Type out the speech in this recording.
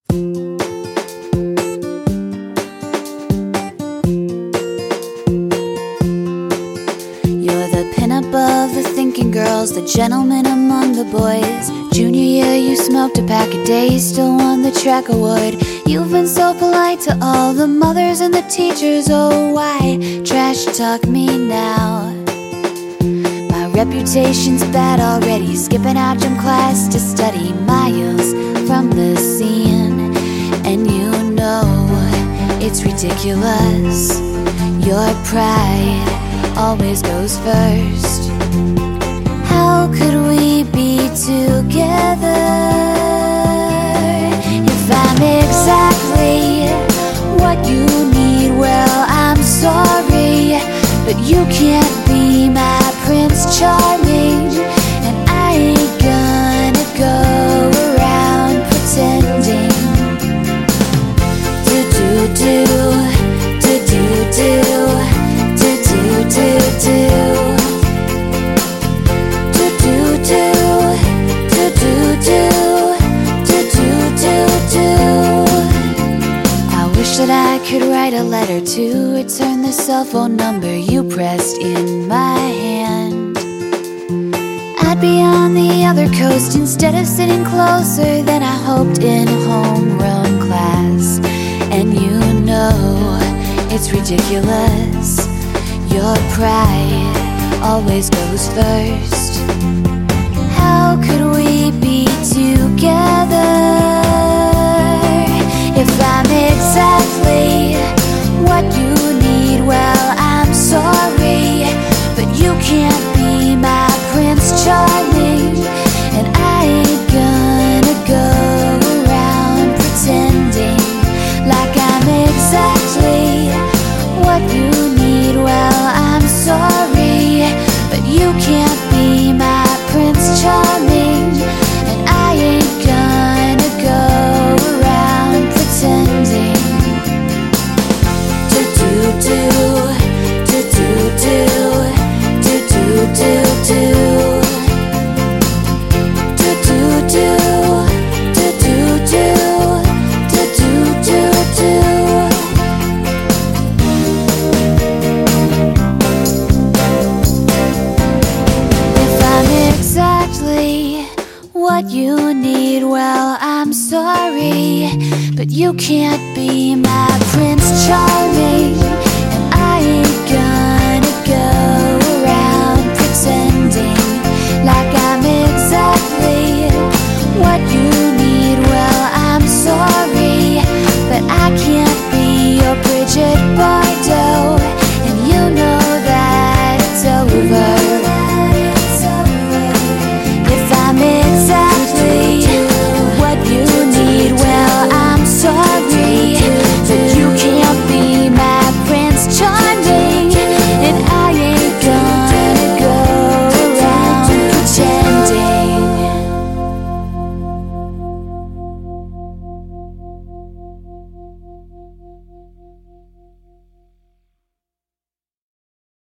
Of the thinking girls, the gentleman among the boys. Junior year you smoked a pack a day, still won the track award. You've been so polite to all the mothers and the teachers. Oh, why trash talk me now? My reputation's bad already, skipping out gym class to study miles from the scene. And you know it's ridiculous, your pride always goes first. How could we be together if I'm exactly what you need? Well, I'm sorry, but you can't be my Prince Charming, and I ain't gonna go around pretending that I could write a letter to return the cell phone number you pressed in my hand. I'd be on the other coast instead of sitting closer than I hoped in homeroom class. And you know it's ridiculous, your pride always goes first. How could we be together if I'm exactly what you need? Well, I'm sorry, but you can't be my Prince Charming, and I ain't gonna go around pretending like I'm exactly what you need. Well, I'm sorry, but you can't be my Prince Charming, and I ain't gonna go around pretending if I'm exactly what you need. Well, I'm sorry, but you can't be my Prince Charming,